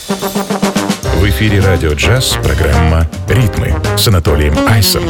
В эфире «Радио Джаз» программа «Ритмы» с Анатолием Айсом.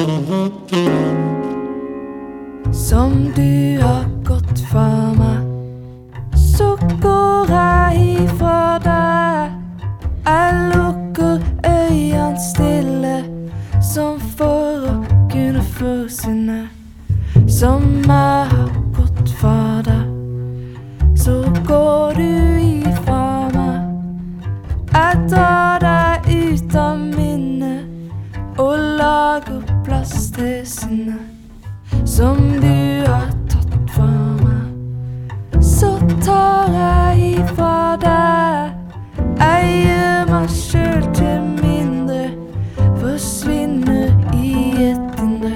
Som du har gått for meg, så går jeg ifra deg. Jeg lukker øynene stille, som for å kunne forsvinne. Som jeg har gått for deg, så går du ifra meg. Jeg drar deg ut av minnet og lager plass til sinnet. Som du har tatt fra meg, så tar jeg ifra deg. Jeg gjør meg selv til mindre, forsvinner i et indre.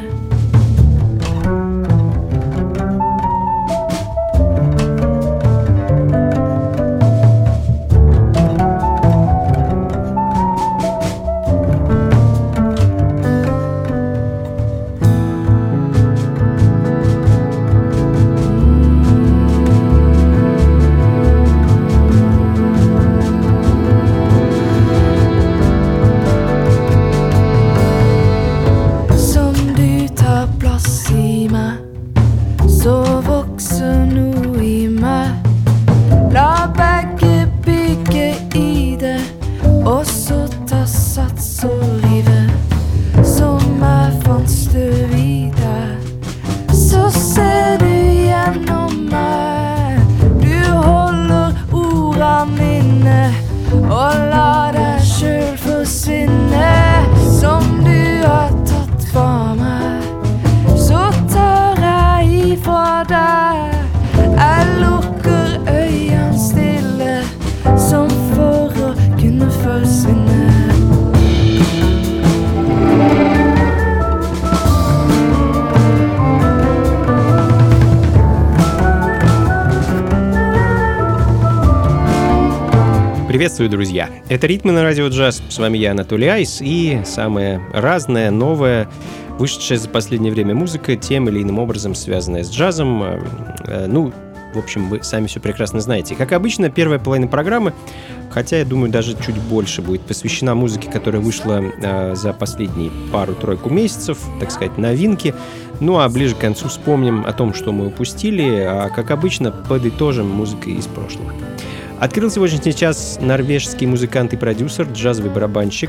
Приветствую, друзья! Это «Ритмы» на радио «Джаз». С вами я, Анатолий Айс, и самая разная, новая, вышедшая за последнее время музыка, тем или иным образом связанная с джазом. В общем, вы сами все прекрасно знаете. Как обычно, первая половина программы, хотя, я думаю, даже чуть больше будет посвящена музыке, которая вышла за последние пару-тройку месяцев, так сказать, новинки. Ну а ближе к концу вспомним о том, что мы упустили, а, как обычно, подытожим музыкой из прошлого. Открыл сегодняшний час норвежский музыкант и продюсер, джазовый барабанщик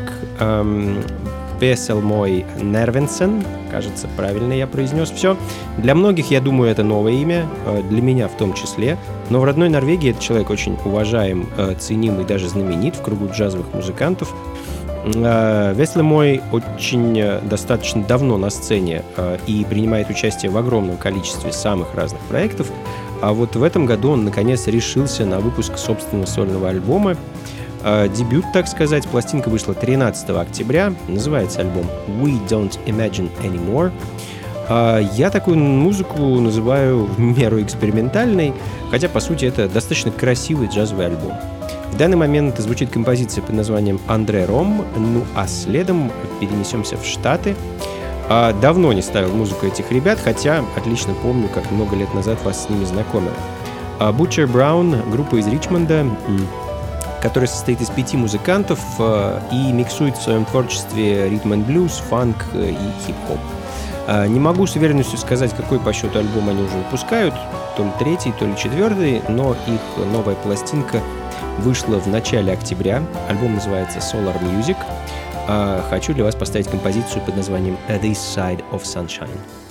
Веселмой Нервенсен. Кажется, правильно я произнес все. Для многих, я думаю, это новое имя, для меня в том числе. Но в родной Норвегии этот человек очень уважаем, ценим и даже знаменит в кругу джазовых музыкантов. Веселмой очень достаточно давно на сцене и принимает участие в огромном количестве самых разных проектов. А вот в этом году он, наконец, решился на выпуск собственного сольного альбома. Дебют, так сказать. Пластинка вышла 13 октября. Называется альбом «We Don't Imagine Anymore». Я такую музыку называю в меру экспериментальной, хотя, по сути, это достаточно красивый джазовый альбом. В данный момент звучит композиция под названием «Андре Ром», ну а следом перенесемся в Штаты. Давно не ставил музыку этих ребят, хотя отлично помню, как много лет назад вас с ними знакомил. Butcher Brown, группа из Ричмонда, которая состоит из 5 музыкантов и миксует в своем творчестве ритм-н-блюз, фанк и хип-хоп. Не могу с уверенностью сказать, какой по счету альбом они уже выпускают, то ли 3-й, то ли 4-й, но их новая пластинка вышла в начале октября. Альбом называется Solar Music. Хочу для вас поставить композицию под названием «This Side of Sunshine».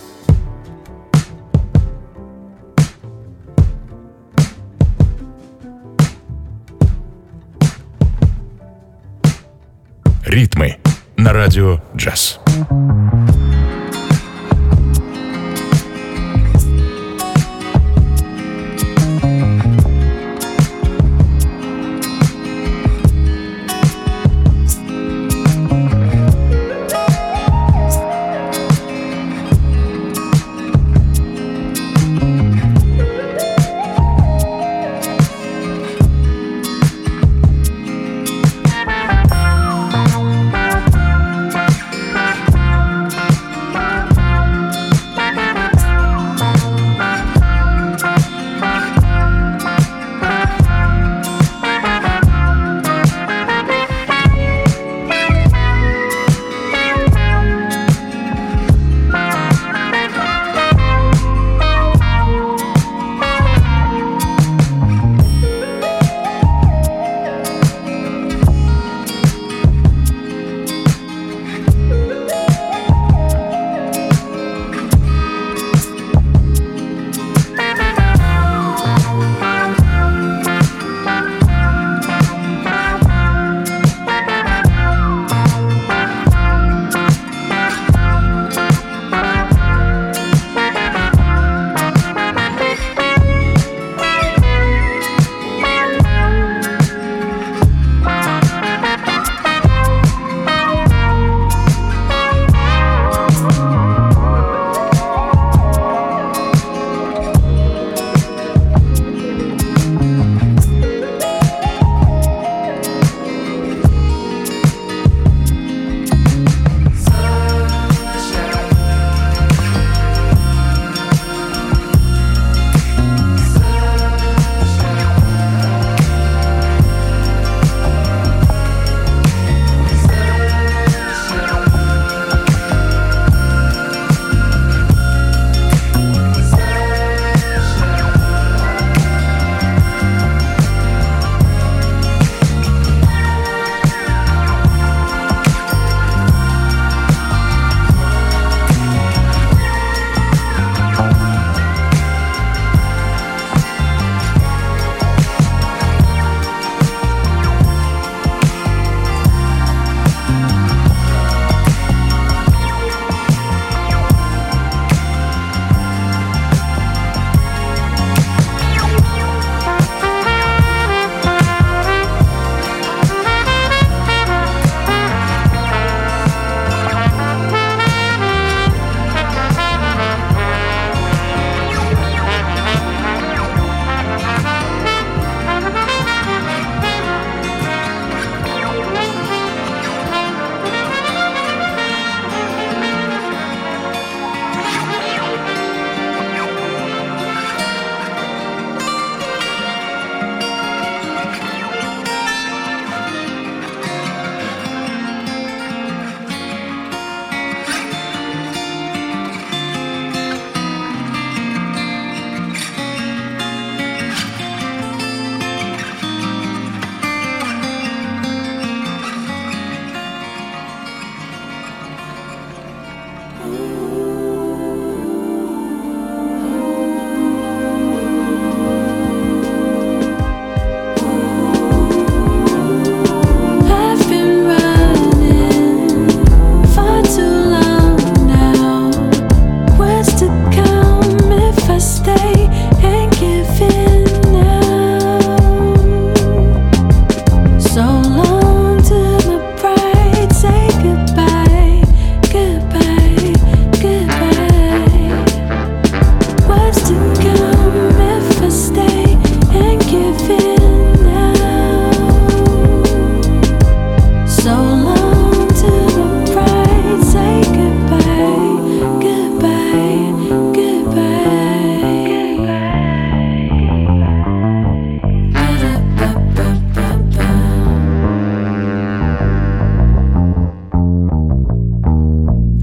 «Ритмы» на радио «Джаз».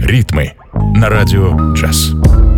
«Ритмы» на радио «Джаз».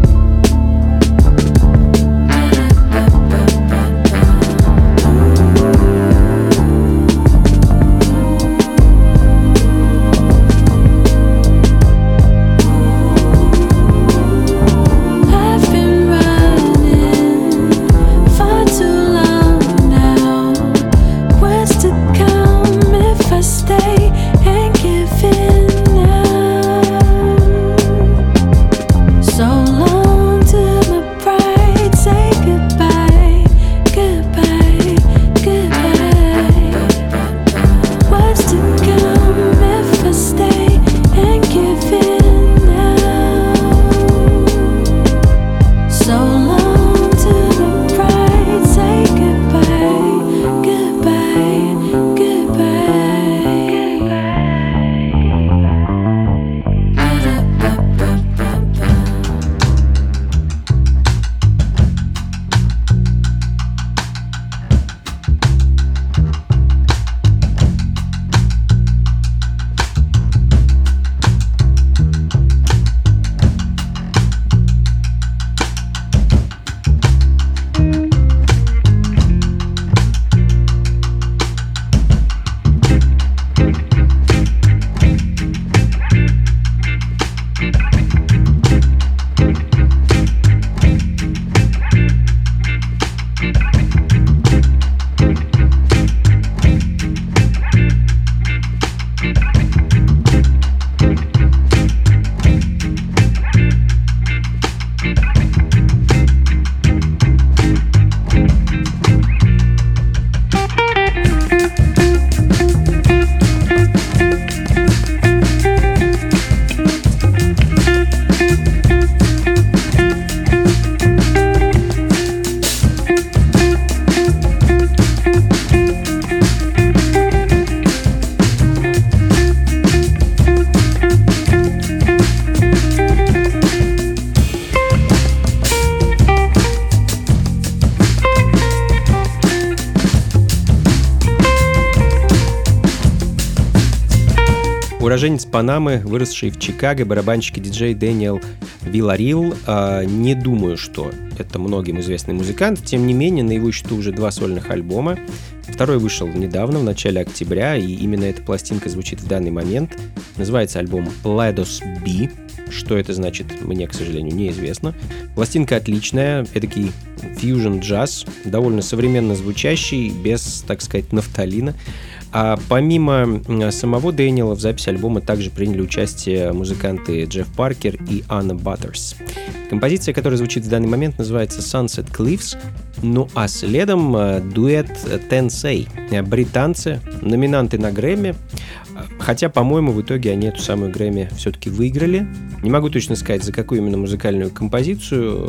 Уроженец Панамы, выросший в Чикаго, барабанщик и диджей Дэниел Вилларил. Не думаю, что это многим известный музыкант. Тем не менее, на его счету уже 2 сольных альбома. Второй вышел недавно, в начале октября, и именно эта пластинка звучит в данный момент. Называется альбом Lados B. Что это значит, мне, к сожалению, неизвестно. Пластинка отличная, эдакий фьюжн-джаз, довольно современно звучащий, без, так сказать, нафталина. А помимо самого Дэниела в записи альбома также приняли участие музыканты Джефф Паркер и Анна Баттерс. Композиция, которая звучит в данный момент, называется Sunset Cliffs. Ну а следом дуэт Tensei. Британцы, номинанты на Грэмми. Хотя, по-моему, в итоге они эту самую Грэмми все-таки выиграли. Не могу точно сказать, за какую именно музыкальную композицию.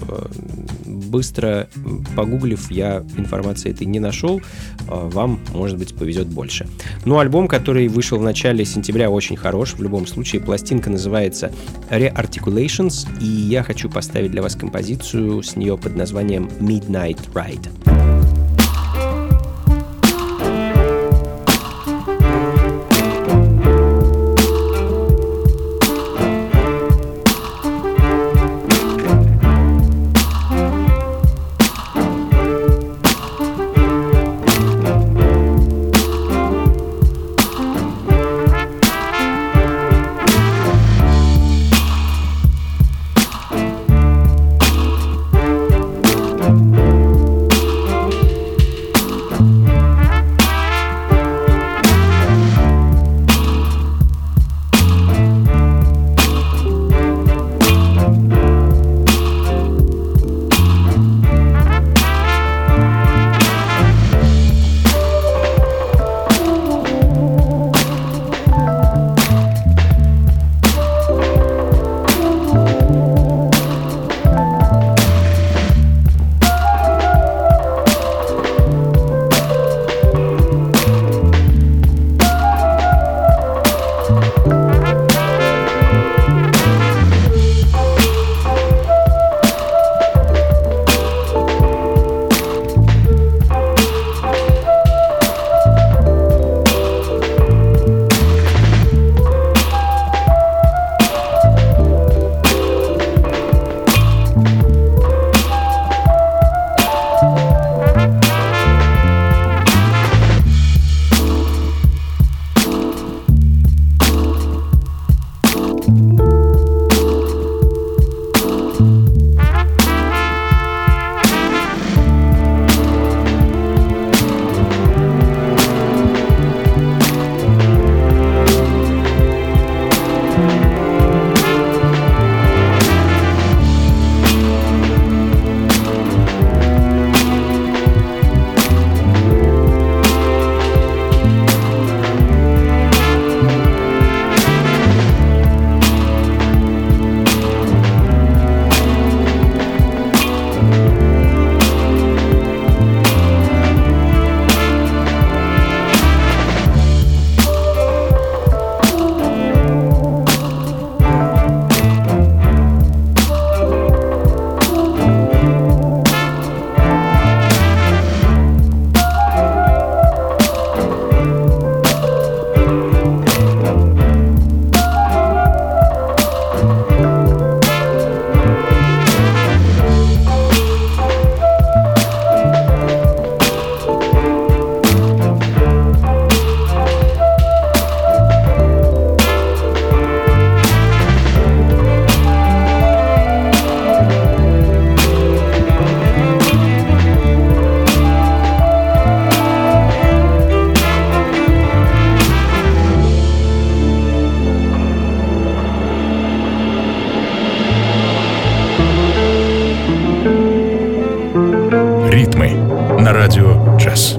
Быстро погуглив, я информации этой не нашел. Вам, может быть, повезет больше. Но альбом, который вышел в начале сентября, очень хорош. В любом случае, пластинка называется Re-Articulations, и я хочу поставить для вас композицию с нее под названием Midnight Ride. на радио «Джаз».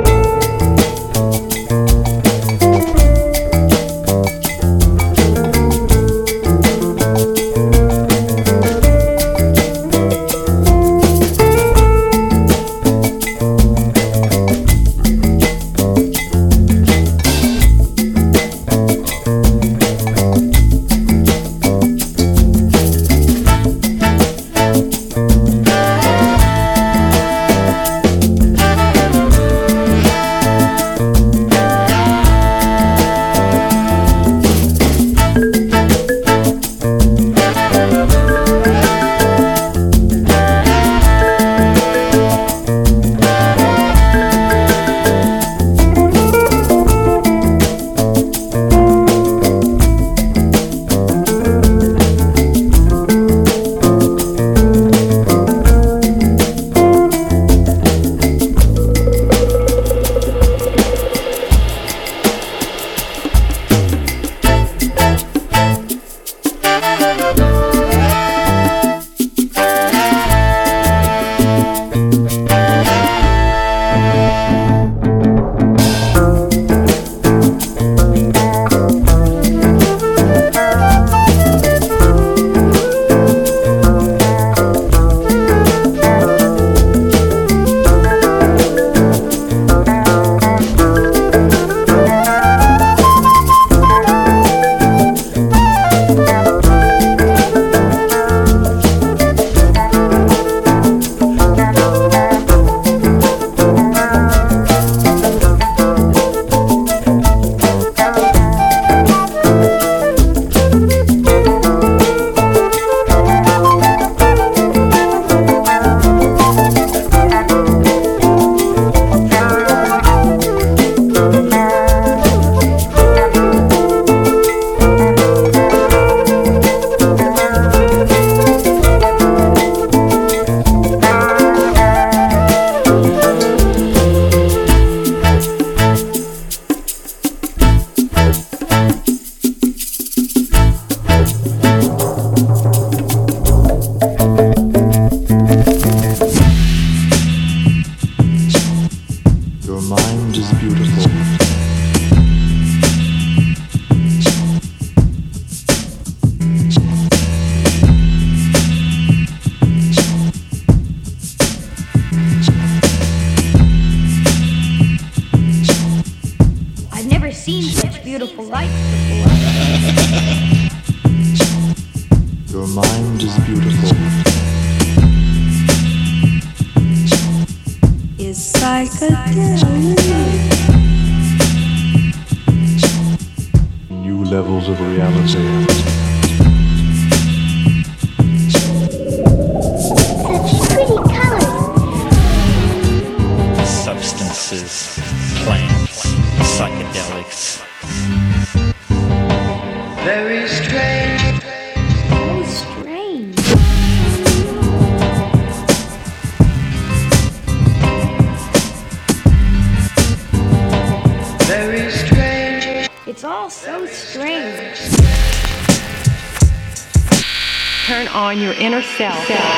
Turn on your inner self.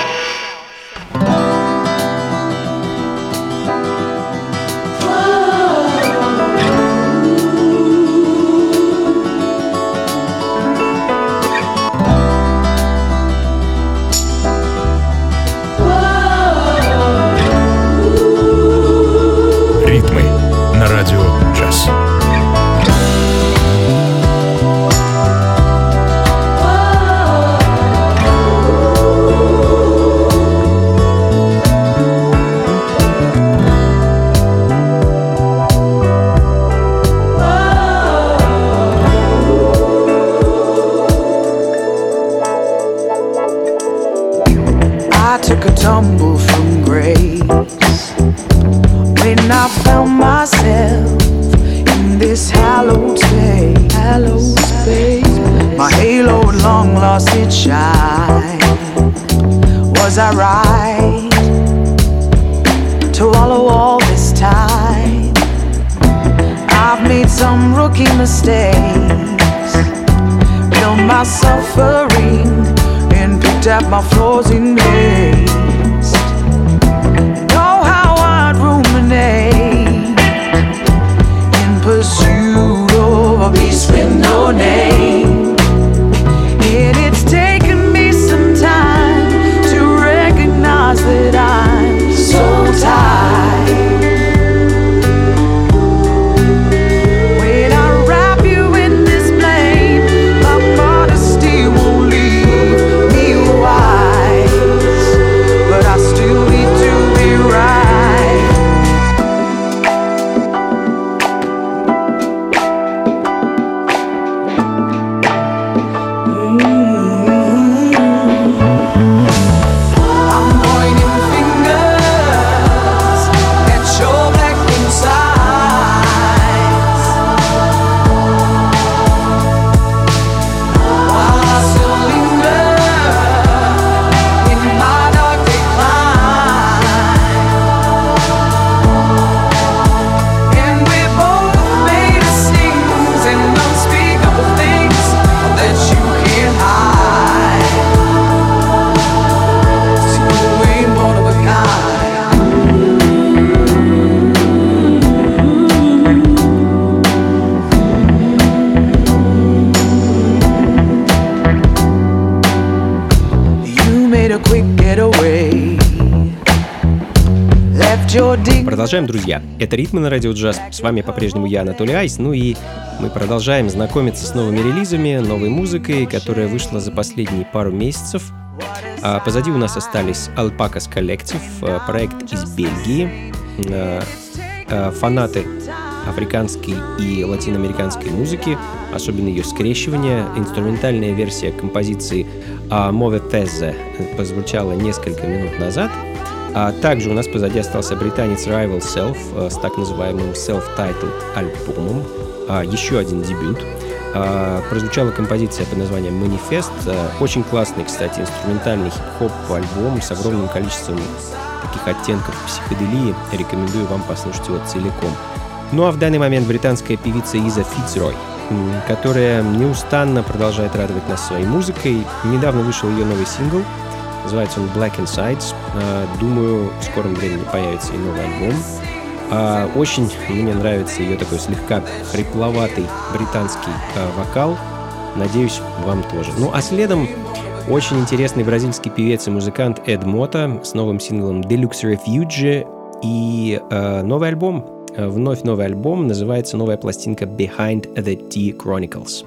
Ритмы на радио «Джаз». Tumble from grace when I found myself in this hallowed space. My halo had long lost its shine. Was I right to wallow all this time? I've made some rookie mistakes, felt my suffering, and picked up my flaws in haste. Know how I'd ruin a peace with no name. And it's taken me some time to recognize that I'm so tired. When I wrap you in this blame, my modesty won't leave me wise, but I still need to be right. Продолжаем, друзья. Это «Ритмы» на Радио Джаз. С вами по-прежнему я, Анатолий Айс. Ну и мы продолжаем знакомиться с новыми релизами, новой музыкой, которая вышла за последние пару месяцев. Позади у нас остались Alpacas Collective, проект из Бельгии. Фанаты африканской и латиноамериканской музыки, особенно ее скрещивания. Инструментальная версия композиции «Move These» прозвучала несколько минут назад. Также у нас позади остался британец Rival Self с так называемым self-titled альбомом. Еще один дебют. Прозвучала композиция под названием «Manifest». Очень классный, кстати, инструментальный хип-хоп альбом с огромным количеством таких оттенков психоделии. Рекомендую вам послушать его целиком. Ну а в данный момент британская певица Иза Фицрой, которая неустанно продолжает радовать нас своей музыкой. Недавно вышел ее новый сингл. Называется он Black Insides. Думаю, в скором времени появится и новый альбом. Очень мне нравится ее такой слегка хрипловатый британский вокал. Надеюсь, вам тоже. Ну а следом очень интересный бразильский певец и музыкант Эд Мота с новым синглом Deluxe Refuge и новый альбом. Вновь новый альбом. Называется новая пластинка Behind the Tea Chronicles.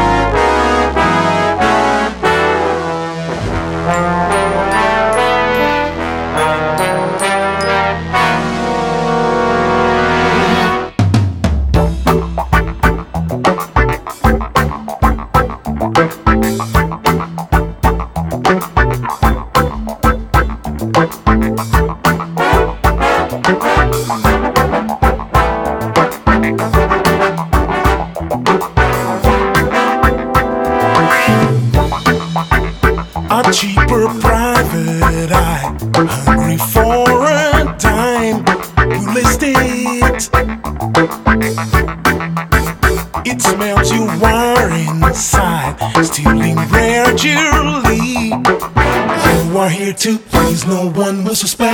Cheaper private eye, hungry for a dime. You list it. It smells you are inside, stealing rare jewelry. You are here to please, no one will suspect.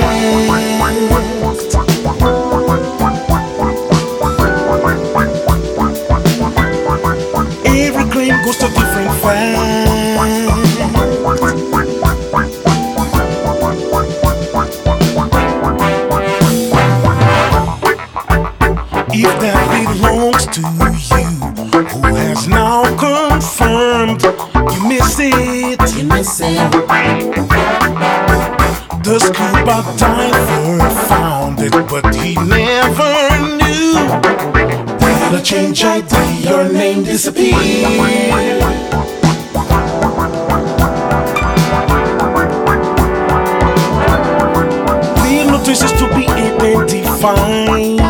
Every claim goes to different facts. If that belongs to you, who has now confirmed you miss it? You miss it. The scuba diver found it, but he never knew that a change ID, your name disappeared. Leave no traces to be identified.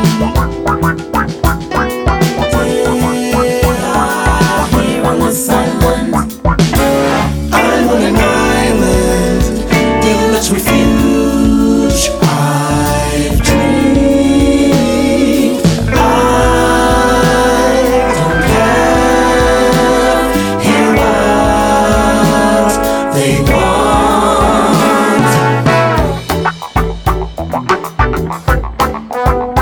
Refuge, I've dreamed. I don't care. Hear what they want.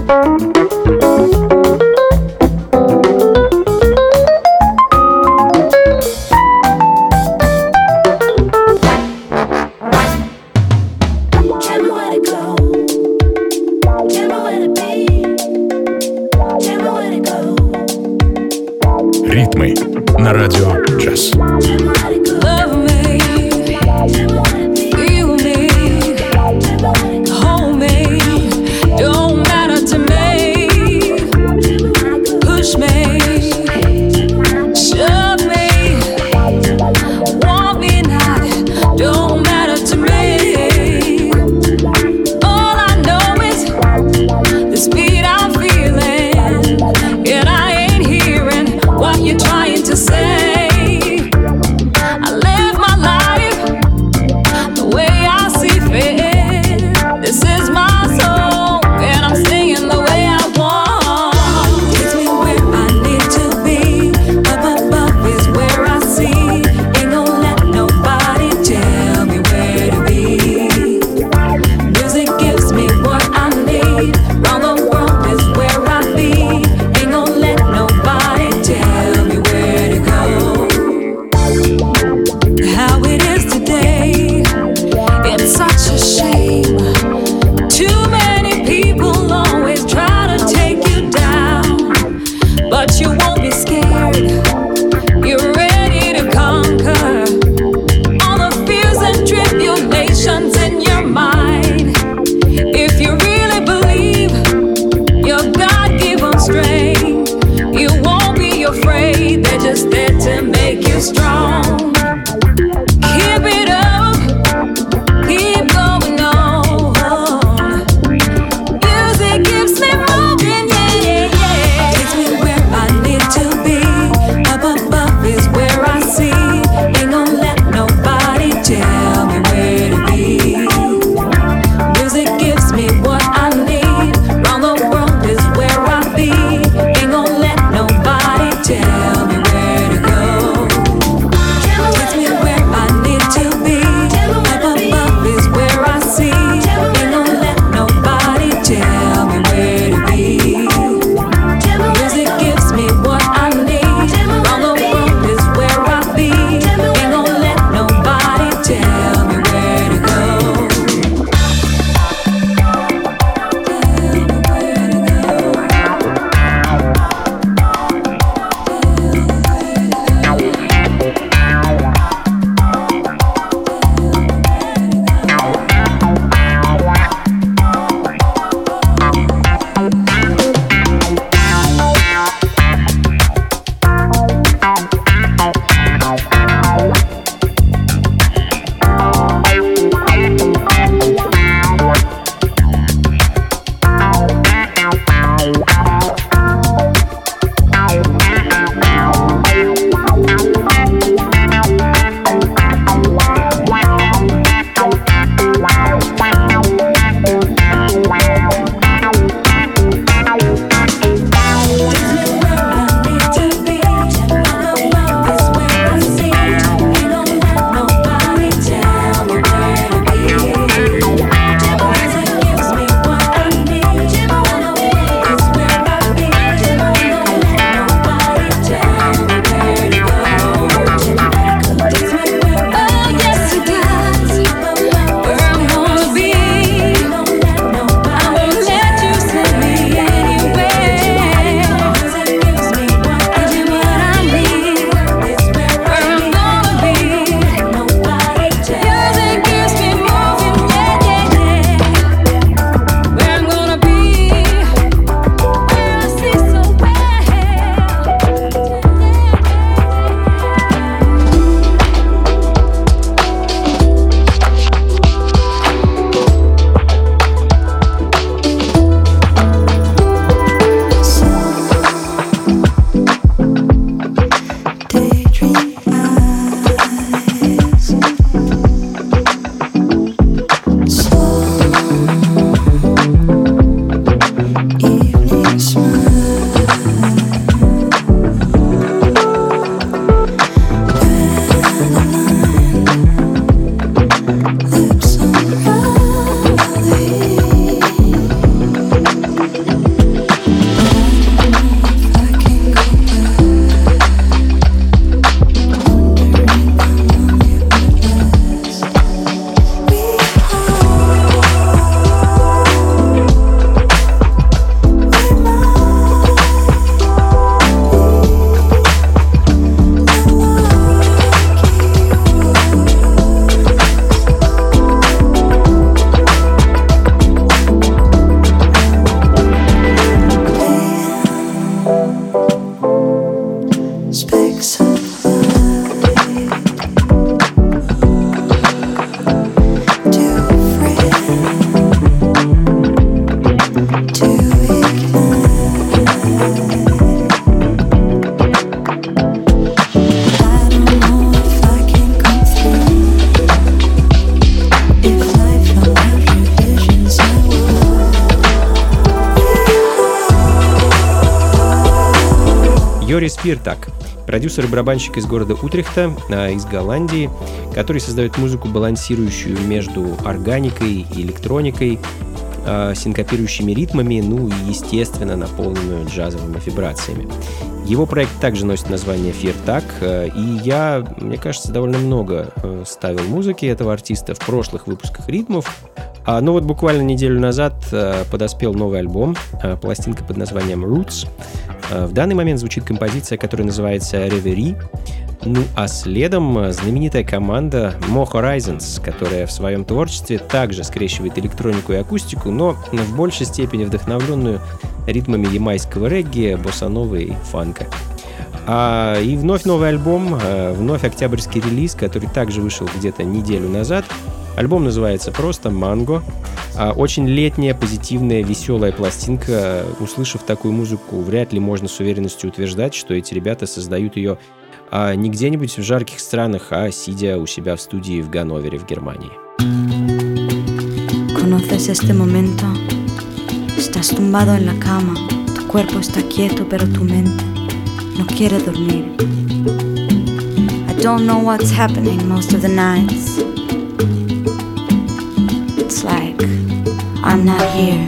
Ритмы на радио джаз. You're trying to say Йорис Фиртак, продюсер и барабанщик из города Утрехта, из Голландии, который создает музыку, балансирующую между органикой и электроникой, синкопирующими ритмами, ну и, естественно, наполненную джазовыми вибрациями. Его проект также носит название Фиртак, и я, мне кажется, довольно много ставил музыки этого артиста в прошлых выпусках ритмов. Но вот буквально неделю назад подоспел новый альбом, пластинка под названием Roots. В данный момент звучит композиция, которая называется Reverie. Ну а следом знаменитая команда Mo Horizons, которая в своем творчестве также скрещивает электронику и акустику, но в большей степени вдохновленную ритмами ямайского регги, боссановы и фанка. И вновь новый альбом, вновь октябрьский релиз, который также вышел где-то неделю назад. Альбом называется просто «Манго». Очень летняя, позитивная, веселая пластинка. Услышав такую музыку, вряд ли можно с уверенностью утверждать, что эти ребята создают ее не где-нибудь в жарких странах, а сидя у себя в студии в Ганновере, в Германии. ¿Conoces este momento? Estás tumbado en la cama, tu cuerpo está quieto, pero tu mente no quiere dormir. I don't know what's happening most of the nights. It's like I'm not here.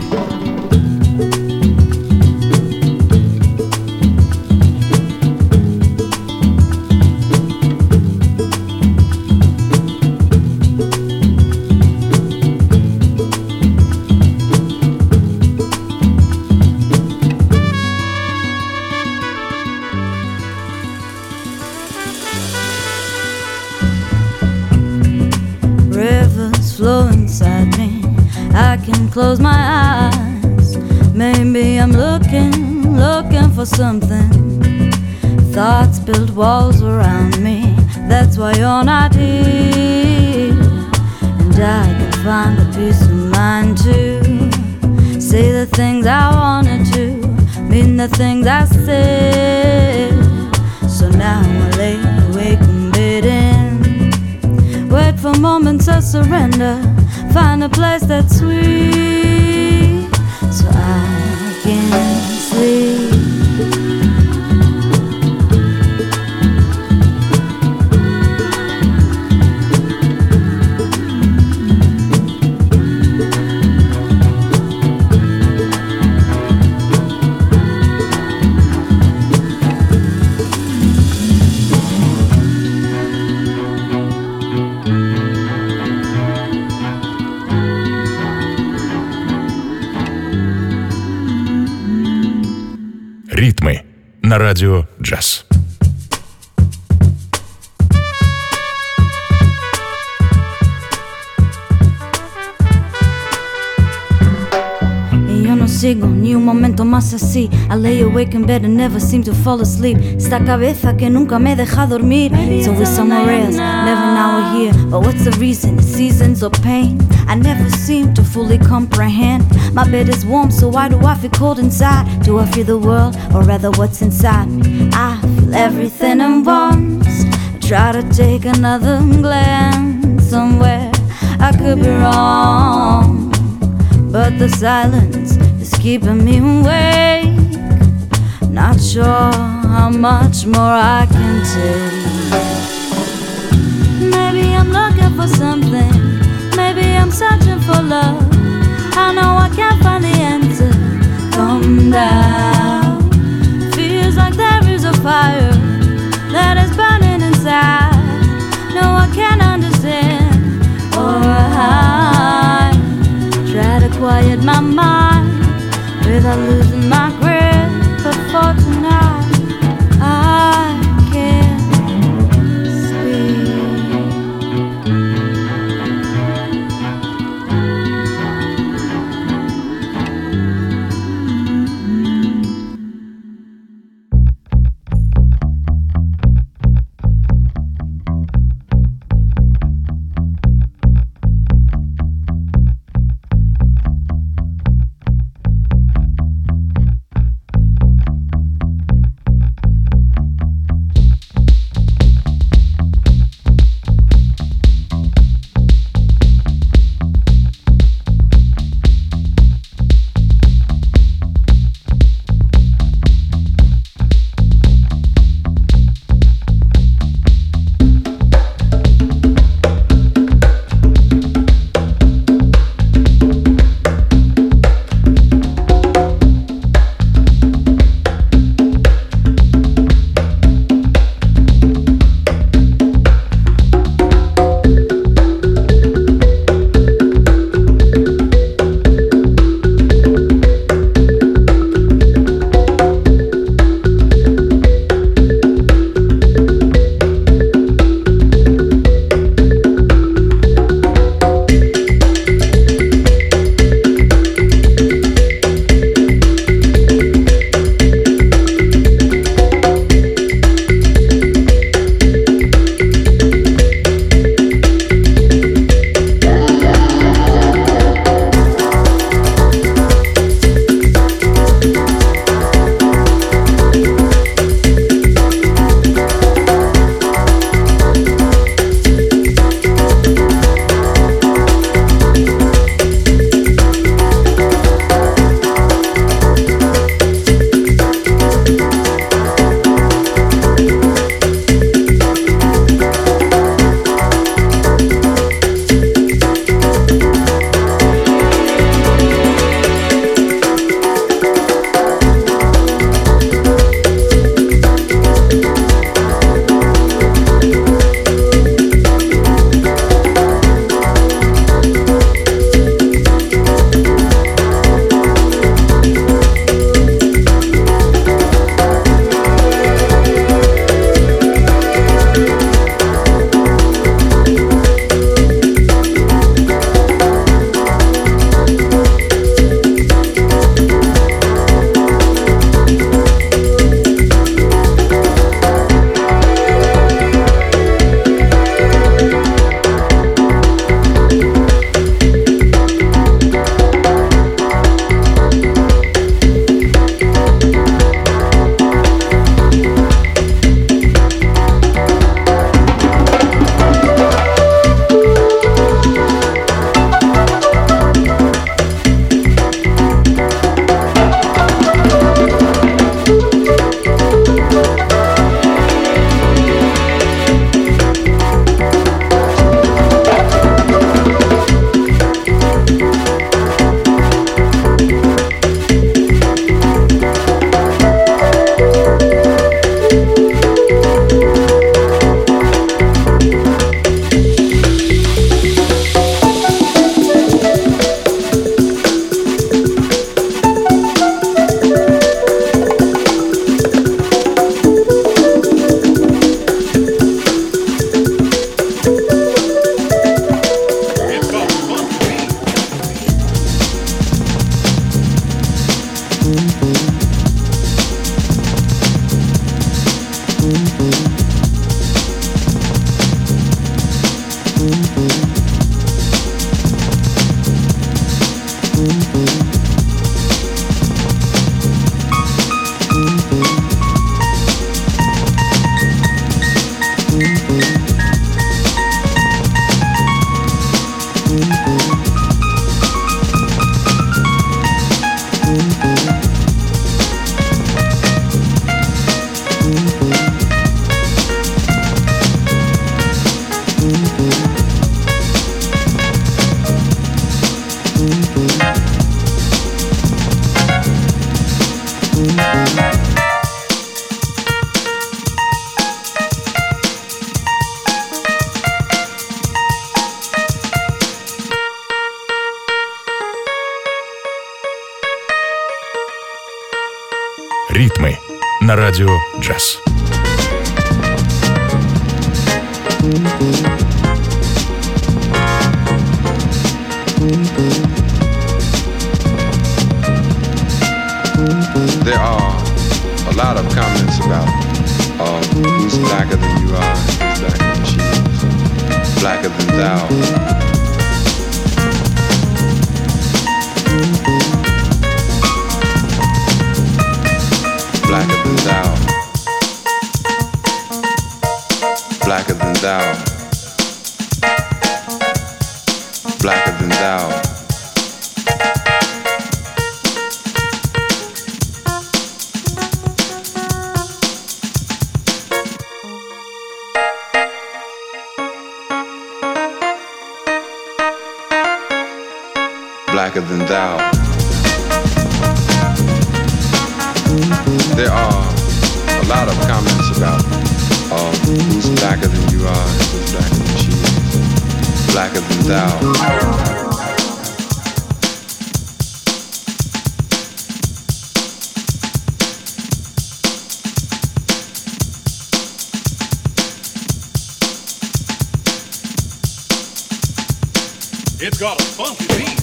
Flow inside me, I can close my eyes. Maybe I'm looking for something. Thoughts build walls around me, that's why you're not here. And I can find a peace of mind too. Say the things I wanted to, mean the things I said. So now I lay awake and waiting. Wait for moments of surrender. Find a place that's sweet, so I can sleep. Ритмы на радио «Джаз». Sigo ni un momento más así. I lay awake in bed and never seem to fall asleep. Esta cabeza que nunca me deja dormir. It's always somewhere else, never now or here. But what's the reason? It's seasons of pain I never seem to fully comprehend. My bed is warm, so why do I feel cold inside? Do I feel the world, or rather what's inside me? I feel everything at once. I try to take another glance somewhere. I could be wrong, but the silence is keeping me awake. Not sure how much more I can take. Maybe I'm looking for something. Maybe I'm searching for love. I know I can't find the answer. Come down. Feels like there is a fire that is burning inside. No, I can't understand or hide. Try to quiet my mind without losing my grip. But for tonight, I can't sleep. Ритмы на радио «Джаз». There are a lot of comments about who's blacker than you are, who's blacker than she is, blacker than thou. Blacker than thou. Blacker than thou. Blacker than thou. Blacker than thou. There are a lot of comments about who's blacker than you are, who's blacker than she is, blacker than thou. It's got a funky beat.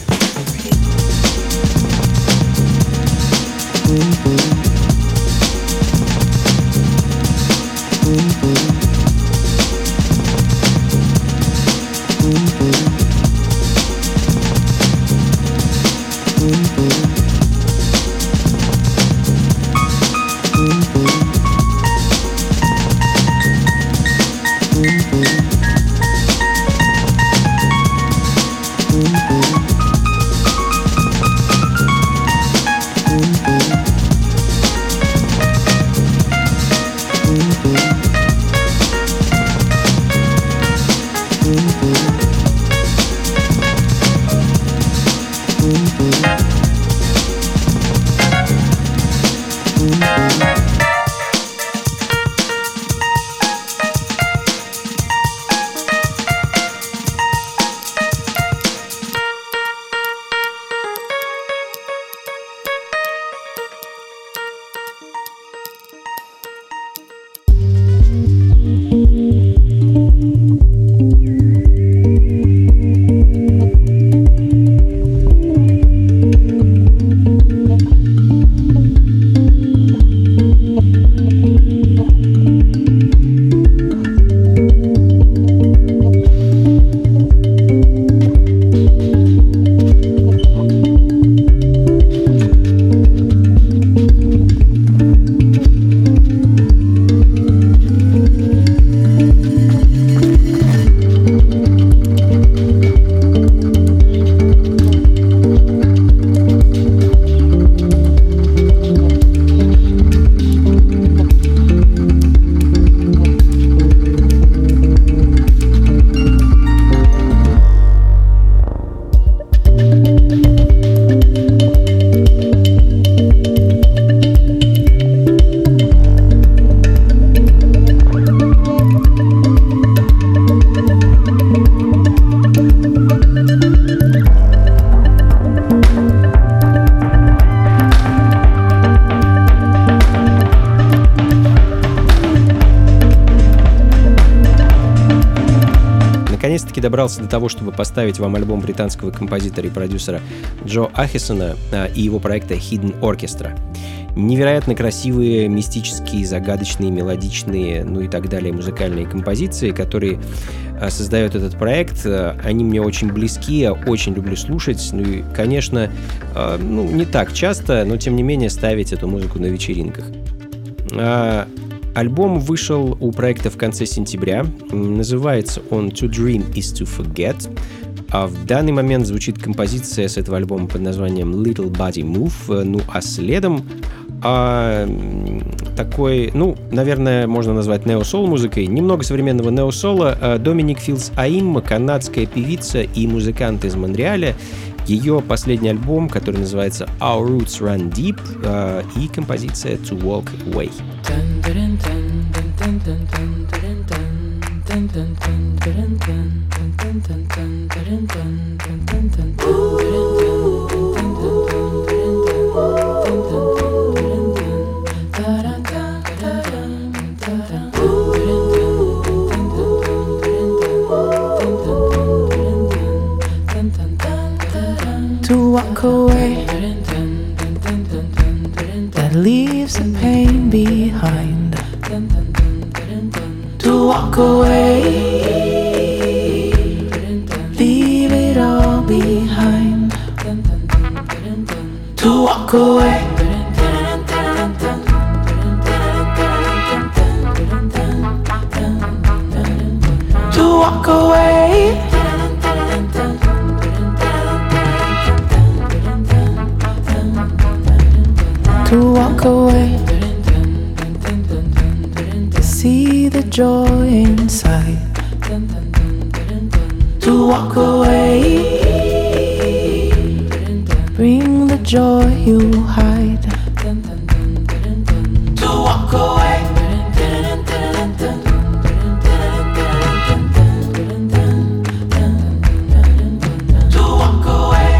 Наконец-таки добрался до того, чтобы поставить вам альбом британского композитора и продюсера Джо Ахисона и его проекта Hidden Orchestra. Невероятно красивые, мистические, загадочные, мелодичные, ну и так далее музыкальные композиции, которые создает этот проект. Они мне очень близки, я очень люблю слушать. Ну и, конечно, не так часто, но тем не менее ставить эту музыку на вечеринках. Альбом вышел у проекта в конце сентября. Называется он «To Dream is to Forget». А в данный момент звучит композиция с этого альбома под названием «Little Body Move». Ну а следом такой, наверное, можно назвать нео-сол музыкой. Немного современного нео-сола. Доминик Филдс Аим, канадская певица и музыкант из Монреаля. Ее последний альбом, который называется Our Roots Run Deep, и композиция To Walk Away. To walk away, that leaves the pain behind. To walk away, leave it all behind. To walk away, to walk away. To walk away, to see the joy inside. To walk away, bring the joy you hide. To walk away, to walk away.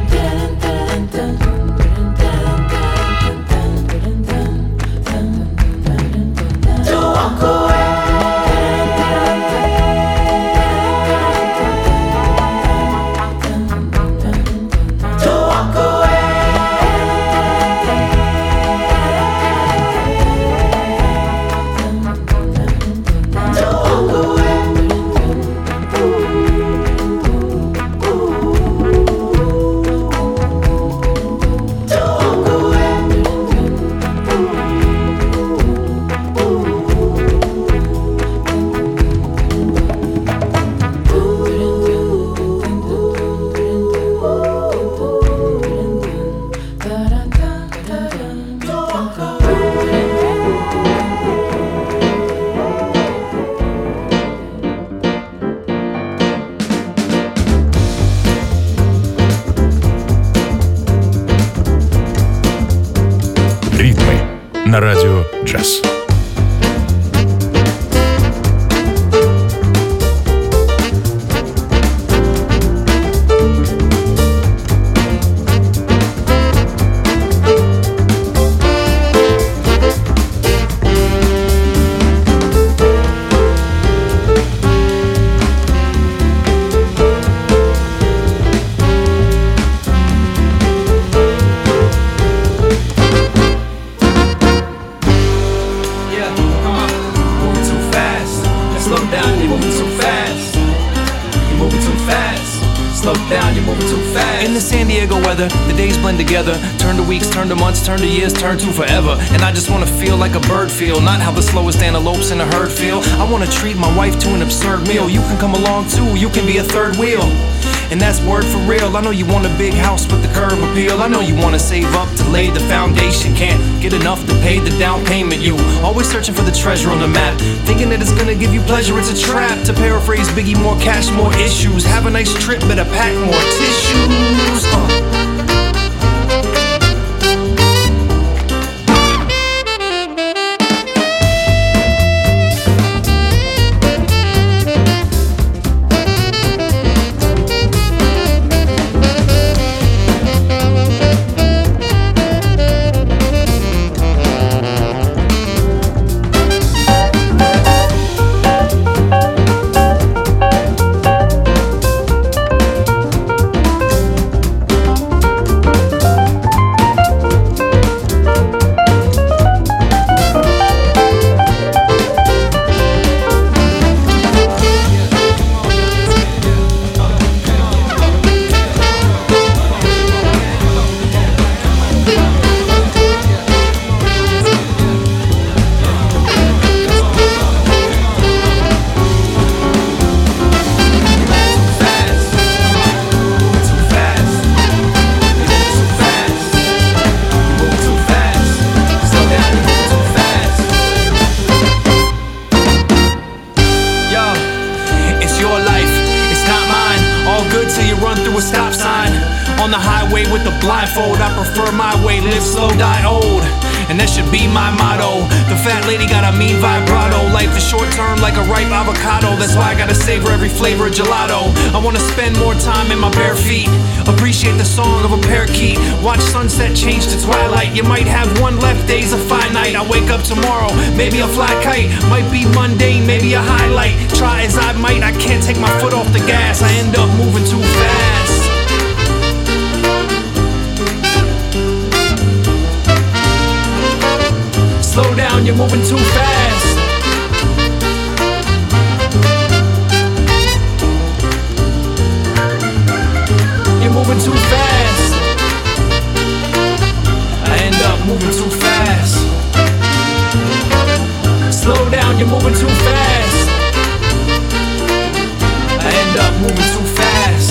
На радио «Джаз». The days blend together, turn to weeks, turn to months, turn to years, turn to forever. And I just wanna feel like a bird feel, not how the slowest antelopes in a herd feel. I wanna treat my wife to an absurd meal. You can come along too, you can be a third wheel. And that's word for real. I know you want a big house with the curb appeal. I know you wanna save up to lay the foundation. Can't get enough to pay the down payment. You always searching for the treasure on the map, thinking that it's gonna give you pleasure. It's a trap. To paraphrase Biggie, more cash, more issues. Have a nice trip, better pack more tissues. with the blindfold. I prefer my way, live slow, die old. And that should be my motto. The fat lady got a mean vibrato. Life is short term like a ripe avocado. That's why I gotta savor every flavor of gelato. I wanna spend more time in my bare feet. Appreciate the song of a parakeet. Watch sunset change to twilight. You might have one left, days are finite. I wake up tomorrow, maybe a fly kite. Might be mundane, maybe a highlight. Try as I might, I can't take my foot off the gas. I end up moving too fast. Slow down, you're moving too fast. You're moving too fast. I end up moving too fast. Slow down, you're moving too fast. I end up moving too fast.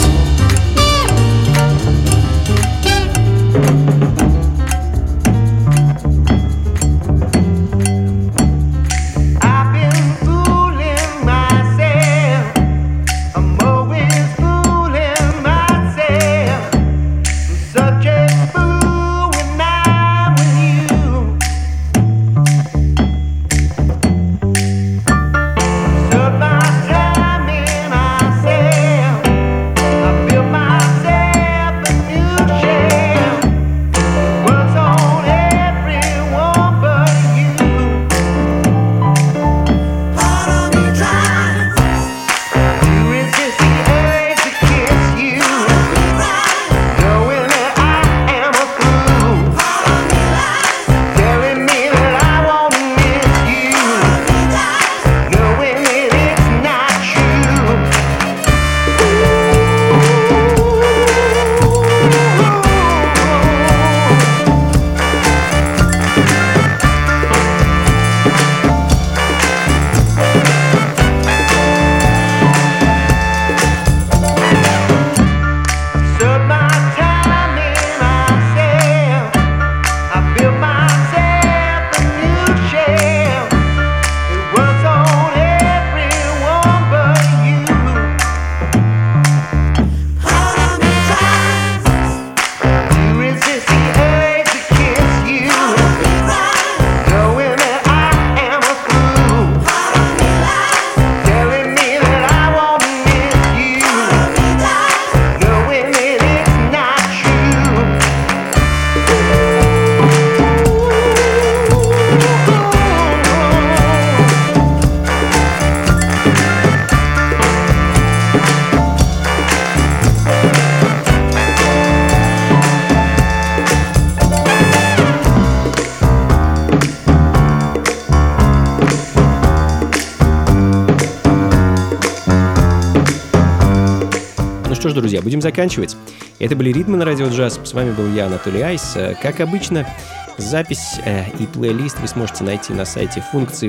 Что ж, друзья, будем заканчивать. Это были «Ритмы» на Радио Джаз. С вами был я, Анатолий Айс. Как обычно, запись и плейлист вы сможете найти на сайте функции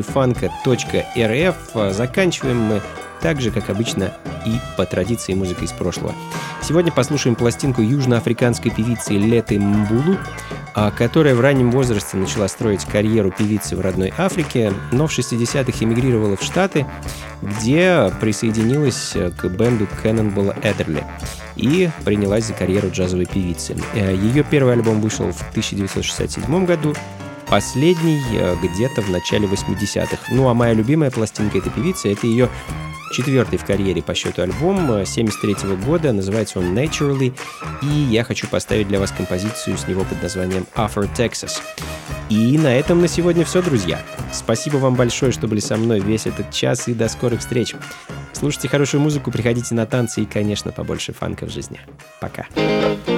фанка.рф. Заканчиваем мы так же, как обычно, и по традиции музыка из прошлого. Сегодня послушаем пластинку южноафриканской певицы Леты Мбулу, которая в раннем возрасте начала строить карьеру певицы в родной Африке, но в 60-х эмигрировала в Штаты, где присоединилась к бенду Cannonball Adderley и принялась за карьеру джазовой певицы. Ее первый альбом вышел в 1967 году, последний где-то в начале 80-х. Ну а моя любимая пластинка этой певицы — это ее четвертый в карьере по счету альбом 1973 года, называется он Naturally, и я хочу поставить для вас композицию с него под названием Afro Texas. И на этом на сегодня все, друзья. Спасибо вам большое, что были со мной весь этот час, и до скорых встреч. Слушайте хорошую музыку, приходите на танцы и, конечно, побольше фанка в жизни. Пока.